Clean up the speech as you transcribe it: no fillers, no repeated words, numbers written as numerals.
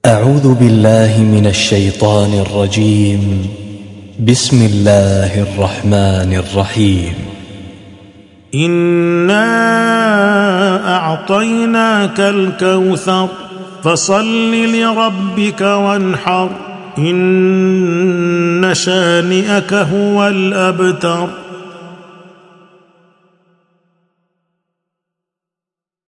أعوذ بالله من الشيطان الرجيم. بسم الله الرحمن الرحيم. إنا أعطيناك الكوثر فصل لربك وانحر إن شانئك هو الأبتر.